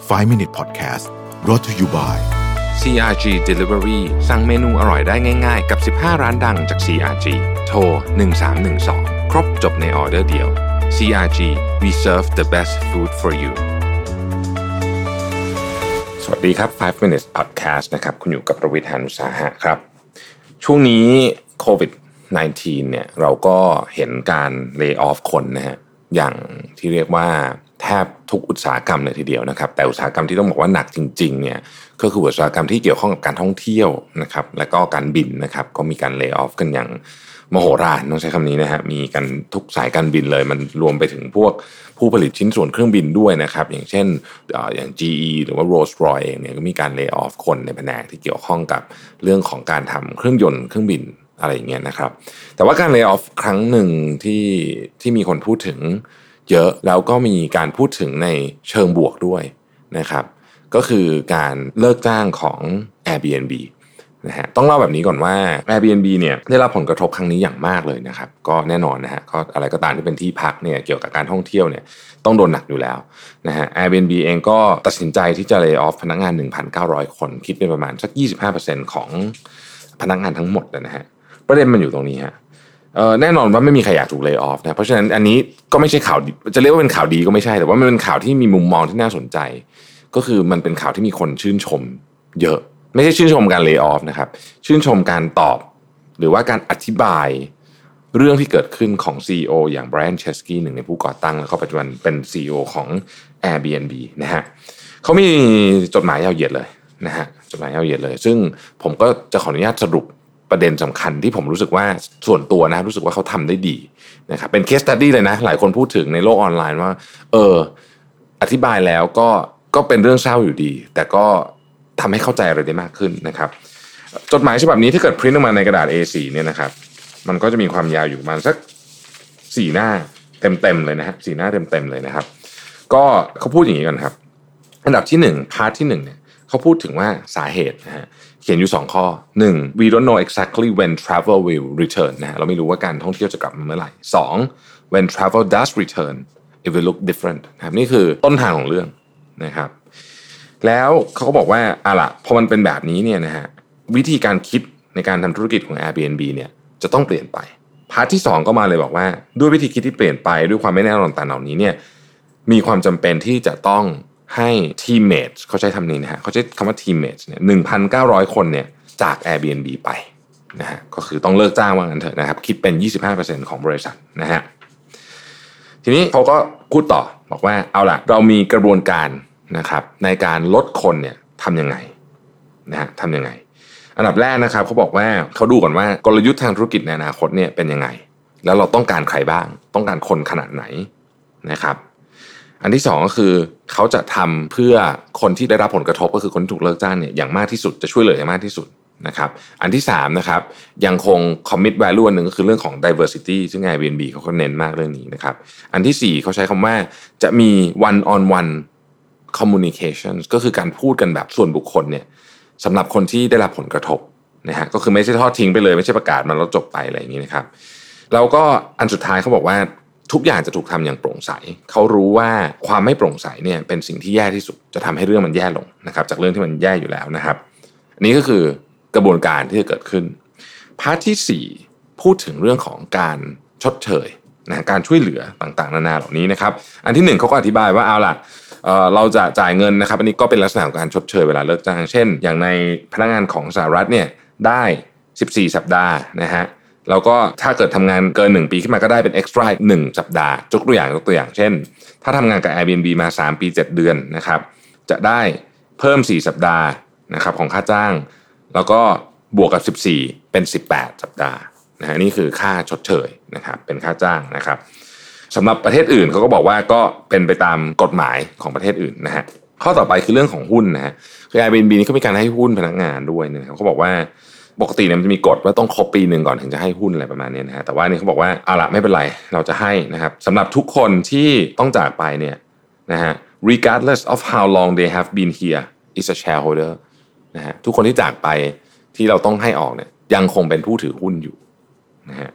5 Minute Podcast brought to you by CRG Delivery สั่งเมนูอร่อยได้ง่ายๆกับ15ร้านดังจาก CRG โทร1312ครบจบในออเดอร์เดียว CRG we serve the best food for you สวัสดีครับ5 Minutes Podcast นะครับคุณอยู่กับประวิทย์ หาญอุตสาหะครับช่วงนี้โควิด-19 เนี่ยเราก็เห็นการ lay off คนนะฮะอย่างที่เรียกว่าแทบทุกอุตสาหกรรมเลยทีเดียวนะครับแต่อุตสาหกรรมที่ต้องบอกว่าหนักจริงๆเนี่ยก็คืออุตสาหกรรมที่เกี่ยวข้องกับการท่องเที่ยวนะครับและก็การบินนะครับก็มีการ lay off กันอย่างมโหฬารต้องใช้คำนี้นะฮะมีกันทุกสายการบินเลยมันรวมไปถึงพวกผู้ผลิตชิ้นส่วนเครื่องบินด้วยนะครับอย่างเช่นอย่าง GE หรือว่า Rolls-Royce เองเนี่ยก็มีการ lay off คนในแผนกที่เกี่ยวข้องกับเรื่องของการทำเครื่องยนต์เครื่องบินอะไรอย่างเงี้ยนะครับแต่ว่าการ lay off ครั้งหนึ่งที่มีคนพูดถึงเยอะแล้วก็มีการพูดถึงในเชิงบวกด้วยนะครับก็คือการเลิกจ้างของ Airbnb นะฮะต้องเล่าแบบนี้ก่อนว่า Airbnb เนี่ยได้รับผลกระทบครั้งนี้อย่างมากเลยนะครับก็แน่นอนนะฮะก็อะไรก็ตามที่เป็นที่พักเนี่ยเกี่ยวกับการท่องเที่ยวเนี่ยต้องโดนหนักอยู่แล้วนะฮะ Airbnb เองก็ตัดสินใจที่จะ lay off พนักงาน 1,900 คนคิดเป็นประมาณสัก 25% ของพนักงานทั้งหมดนะฮะประเด็นมันอยู่ตรงนี้ฮะแน่นอนว่าไม่มีใครอยากถูก lay off นะเพราะฉะนั้นอันนี้ก็ไม่ใช่ข่าวจะเรียกว่าเป็นข่าวดีก็ไม่ใช่แต่ว่ามันเป็นข่าวที่มีมุมมองที่น่าสนใจก็คือมันเป็นข่าวที่มีคนชื่นชมเยอะไม่ใช่ชื่นชมการ lay off นะครับชื่นชมการตอบหรือว่าการอธิบายเรื่องที่เกิดขึ้นของ CEO อย่าง Brian Chesky หนึ่งในผู้ก่อตั้งแล้วก็ปัจจุบันเป็น CEO ของ Airbnb นะฮะเขามีจดหมายยาวเหยียดเลยนะฮะจดหมายยาวเหยียดเลยซึ่งผมก็จะขออนุญาตสรุปประเด็นสำคัญที่ผมรู้สึกว่าส่วนตัวนะรู้สึกว่าเขาทำได้ดีนะครับเป็น case study เลยนะหลายคนพูดถึงในโลกออนไลน์ว่าอธิบายแล้วก็เป็นเรื่องเศร้าอยู่ดีแต่ก็ทำให้เข้าใจอะไรได้มากขึ้นนะครับจดหมายฉบับนี้ถ้าเกิดพริ้นออกมาในกระดาษ A4 เนี่ยนะครับมันก็จะมีความยาวอยู่ประมาณสัก4หน้าเต็มๆเลยนะฮะ4หน้าเต็มๆเลยนะครับก็เขาพูดอย่างนี้กันครับอันดับที่1พาร์ทที่1เนี่ยเขาพูดถึงว่าสาเหตุนะฮะเขียนอยู่2ข้อ1 we don't know exactly when travel will return นะฮะเราไม่รู้ว่าการท่องเที่ยวจะกลับมาเมื่อไหร่2 when travel does return it will look different นะครับนี่คือต้นทางของเรื่องนะครับแล้วเขาก็บอกว่าล่ะพอมันเป็นแบบนี้เนี่ยนะฮะวิธีการคิดในการทำธุรกิจของ Airbnb เนี่ยจะต้องเปลี่ยนไปพาร์ทที่2ก็มาเลยบอกว่าด้วยวิธีคิดที่เปลี่ยนไปด้วยความไม่แน่นอนต่างๆเหล่านี้เนี่ยมีความจำเป็นที่จะต้องให้ทีมเมทเขาใช้คำนี้นะฮะเขาใช้คำว่าทีมเมทเนี่ย 1,900 คนเนี่ยจาก Airbnb ไปนะฮะก็คือต้องเลิกจ้างว่างั้นเถอะนะครับคิดเป็น 25% ของบริษัทนะฮะทีนี้เขาก็พูดต่อบอกว่าเอาล่ะเรามีกระบวนการนะครับในการลดคนเนี่ยทำยังไงนะฮะทำยังไงอันดับแรกนะครับเขาบอกว่าเขาดูก่อนว่ากลยุทธ์ทางธุรกิจในอนาคตเนี่ยเป็นยังไงแล้วเราต้องการใครบ้างต้องการคนขนาดไหนนะครับอันที่2ก็คือเขาจะทำเพื่อคนที่ได้รับผลกระทบก็คือคนที่ถูกเลิกจ้างเนี่ยอย่างมากที่สุดจะช่วยเหลืออย่างมากที่สุดนะครับอันที่3นะครับยังคง commit value อันหนึ่งก็คือเรื่องของ diversity ซึ่ง Airbnb เขาก็เน้นมากเรื่องนี้นะครับอันที่4เขาใช้คำว่าจะมี one on one communication ก็คือการพูดกันแบบส่วนบุคคลเนี่ยสำหรับคนที่ได้รับผลกระทบนะฮะก็คือไม่ใช่ทอดทิ้งไปเลยไม่ใช่ประกาศมันแล้วจบไปอะไรอย่างนี้นะครับแล้วก็อันสุดท้ายเขาบอกว่าทุกอย่างจะถูกทำอย่างโปร่งใสเขารู้ว่าความไม่โปร่งใสเนี่ยเป็นสิ่งที่แย่ที่สุดจะทำให้เรื่องมันแย่ลงนะครับจากเรื่องที่มันแย่อยู่แล้วนะครับอันนี้ก็คือกระบวนการที่จะเกิดขึ้นพาร์ทที่4พูดถึงเรื่องของการชดเชยนะการช่วยเหลือต่างๆนานาเหล่านี้นะครับอันที่1เขาก็อธิบายว่าเอาล่ะเราจะจ่ายเงินนะครับอันนี้ก็เป็นลักษณะของการชดเชยเวลาเลิกจ้างเช่นอย่างในพนักงานของสหรัฐเนี่ยได้14สัปดาห์นะฮะแล้วก็ถ้าเกิดทำงานเกิน1ปีขึ้นมาก็ได้เป็น extra 1สัปดาห์ยกตัวอย่างเช่นถ้าทำงานกับ Airbnb มา3ปี7เดือนนะครับจะได้เพิ่ม4สัปดาห์นะครับของค่าจ้างแล้วก็บวกกับ14เป็น18สัปดาห์นะฮะนี่คือค่าชดเชยนะครับเป็นค่าจ้างนะครับสำหรับประเทศอื่นเขาก็บอกว่าก็เป็นไปตามกฎหมายของประเทศอื่นนะฮะข้อต่อไปคือเรื่องของหุ้นนะฮะคือ Airbnb นี่เขามีการให้หุ้นพนักงานด้วยนะครับเขาบอกว่าปกติเนี่ยมันจะมีกฎว่าต้องครบปีนึงก่อนถึงจะให้หุ้นอะไรประมาณนี้นะฮะแต่ว่านี่เขาบอกว่าเอาล่ะไม่เป็นไรเราจะให้นะครับสำหรับทุกคนที่ต้องจากไปเนี่ยนะฮะ regardless of how long they have been here is a shareholder นะฮะทุกคนที่จากไปที่เราต้องให้ออกเนี่ยยังคงเป็นผู้ถือหุ้นอยู่นะฮะ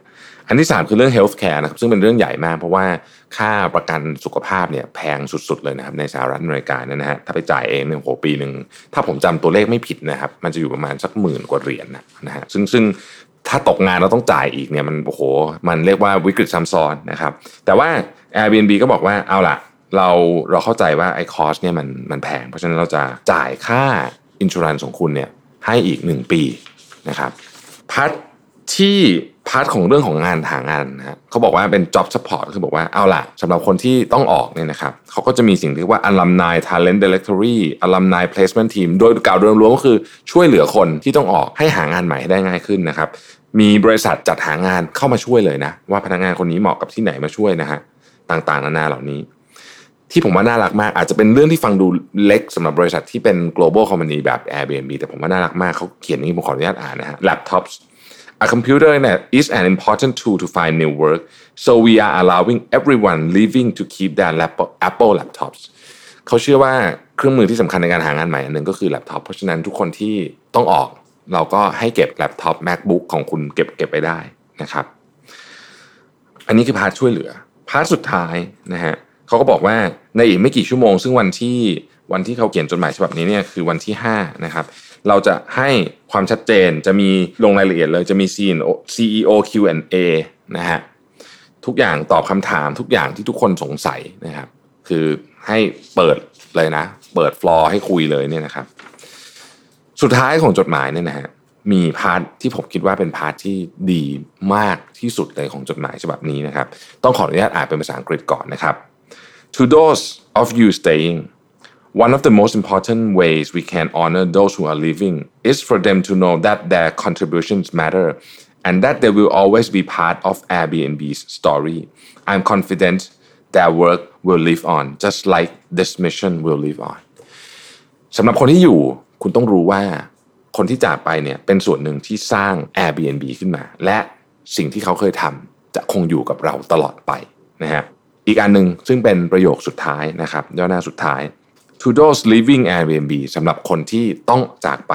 อันที่3คือเรื่อง healthcare นะครับซึ่งเป็นเรื่องใหญ่มากเพราะว่าค่าประกันสุขภาพเนี่ยแพงสุดๆเลยนะครับในสหรัฐอเมริกาเนี่ยนะฮะถ้าไปจ่ายเองเนี่ยโหปีนึงถ้าผมจำตัวเลขไม่ผิดนะครับมันจะอยู่ประมาณสัก10,000 กว่าเหรียญนะฮะซึ่งถ้าตกงานเราต้องจ่ายอีกเนี่ยมันโอ้โหมันเรียกว่าวิกฤตซ้ำซ้อนนะครับแต่ว่า Airbnb ก็บอกว่าเอาล่ะเราเข้าใจว่าไอ้คอสเนี่ยมันแพงเพราะฉะนั้นเราจะจ่ายค่าอินชัวรันซ์ของคุณเนี่ยให้อีก1 ปีนะครับพาร์ทของเรื่องของงานหางานนะฮะเขาบอกว่าเป็น job support คือบอกว่าเอาล่ะสำหรับคนที่ต้องออกเนี่ยนะครับเขาก็จะมีสิ่งที่เรียกว่า alumni talent directory alumni placement team โดยกล่าวโดยรวมก็คือช่วยเหลือคนที่ต้องออกให้หางานใหม่ให้ได้ง่ายขึ้นนะครับมีบริษัทจัดหางานเข้ามาช่วยเลยนะว่าพนักงานคนนี้เหมาะกับที่ไหนมาช่วยนะฮะต่างๆนานาเหล่านี้ที่ผมว่าน่ารักมากอาจจะเป็นเรื่องที่ฟังดูเล็กสำหรับบริษัทที่เป็น global company แบบ Airbnb แต่ผมว่าน่ารักมากเขาเขียนอย่างนี้ผมขออนุญาตอ่านนะฮะ laptops A computer is an important tool to find new work, so we are allowing everyone leaving to keep their Apple laptops. เขาเชื่อว่าเครื่องมือที่สำคัญในการหางานใหม่อันหนึ่งก็คือแล็ปท็อปเพราะฉะนั้นทุกคนที่ต้องออกเราก็ให้เก็บแล็ปท็อป MacBook ของคุณเก็บไปได้นะครับอันนี้คือพาร์ทช่วยเหลือพาร์ทสุดท้ายนะฮะเขาก็บอกว่าในอีกไม่กี่ชั่วโมงซึ่งวันที่เขาเขียนจดหมายฉบับนี้เนี่ยคือวันที่5นะครับเราจะให้ความชัดเจนจะมีลงรายละเอียดเลยจะมี CEO Q&A นะฮะทุกอย่างตอบคำถามทุกอย่างที่ทุกคนสงสัยนะครับคือให้เปิดเลยนะเปิดฟลอร์ให้คุยเลยเนี่ยนะครับสุดท้ายของจดหมายเนี่ยนะฮะมีพาร์ทที่ผมคิดว่าเป็นพาร์ทที่ดีมากที่สุดเลยของจดหมายฉบับนี้นะครับต้องขออนุญาตอ่านเป็นภาษาอังกฤษก่อนนะครับ To those of you staying One of the most important ways we can honor those who are leaving is for them to know that their contributions matter and that they will always be part of Airbnb's story. I'm confident their work will live on, just like this mission will live on. สำหรับคนที่อยู่คุณต้องรู้ว่าคนที่จากไปเนี่ยเป็นส่วนหนึ่งที่สร้าง Airbnb ขึ้นมาและสิ่งที่เขาเคยทำจะคงอยู่กับเราตลอดไปนะฮะอีกอันนึงซึ่งเป็นประโยคสุดท้ายนะครับย่อหน้าสุดท้ายTo those leaving Airbnb สำหรับคนที่ต้องจากไป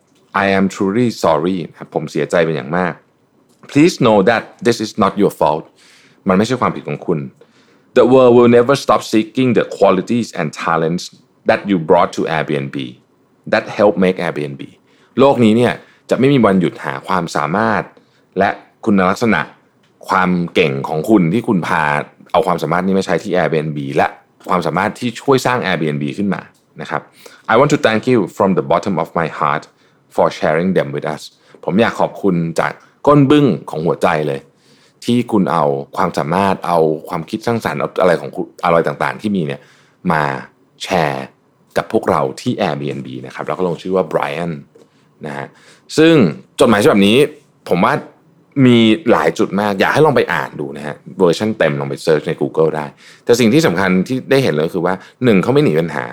I am truly sorry ผมเสียใจเป็นอย่างมาก Please know that this is not your fault มันไม่ใช่ความผิดของคุณ The world will never stop seeking the qualities and talents that you brought to Airbnb that help make Airbnb โลกนี้เนี่ยจะไม่มีวันหยุดหาความสามารถและคุณลักษณะความเก่งของคุณที่คุณพาเอาความสามารถนี้มาใช้ที่ Airbnb และความสามารถที่ช่วยสร้าง Airbnb ขึ้นมานะครับ I want to thank you from the bottom of my heart for sharing them with us ผมอยากขอบคุณจากก้นบึ้งของหัวใจเลยที่คุณเอาความสามารถเอาความคิดสร้างสรรค์อะไรของคุณอะไรต่างๆที่มีเนี่ยมาแชร์กับพวกเราที่ Airbnb นะครับแล้วก็ลงชื่อว่า Brian นะฮะซึ่งจดหมายฉบับนี้ผมว่ามีหลายจุดมากอยากให้ลองไปอ่านดูนะฮะเวอร์ชันเต็มลองไปเซิร์ชใน Google ได้แต่สิ่งที่สำคัญที่ได้เห็นเลยคือว่า1เขาไม่หนีปัญหา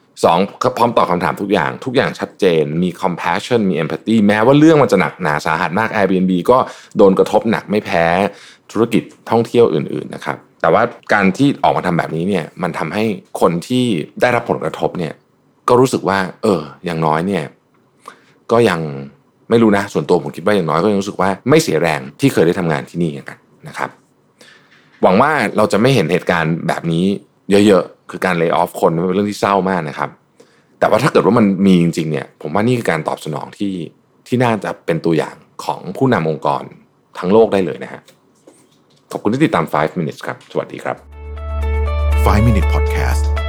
2เขาพร้อมตอบคำถามทุกอย่างชัดเจนมี compassion มี empathy แม้ว่าเรื่องมันจะหนักหนาสาหัสมาก Airbnb ก็โดนกระทบหนักไม่แพ้ธุรกิจท่องเที่ยวอื่นๆนะครับแต่ว่าการที่ออกมาทำแบบนี้เนี่ยมันทำให้คนที่ได้รับผลกระทบเนี่ยก็รู้สึกว่าอย่างน้อยเนี่ยก็ยังไม่รู้นะส่วนตัวผมคิดว่าอย่างน้อยก็ยังรู้สึกว่าไม่เสียแรงที่เคยได้ทำงานที่นี่กันนะครับหวังว่าเราจะไม่เห็นเหตุการณ์แบบนี้เยอะๆคือการเลย์ออฟคนเป็นเรื่องที่เศร้ามากนะครับแต่ว่าถ้าเกิดว่ามันมีจริงๆเนี่ยผมว่านี่คือการตอบสนองที่น่าจะเป็นตัวอย่างของผู้นำองค์กรทั้งโลกได้เลยนะฮะขอบคุณที่ติดตาม5 minutes ครับสวัสดีครับ 5 Minute Podcast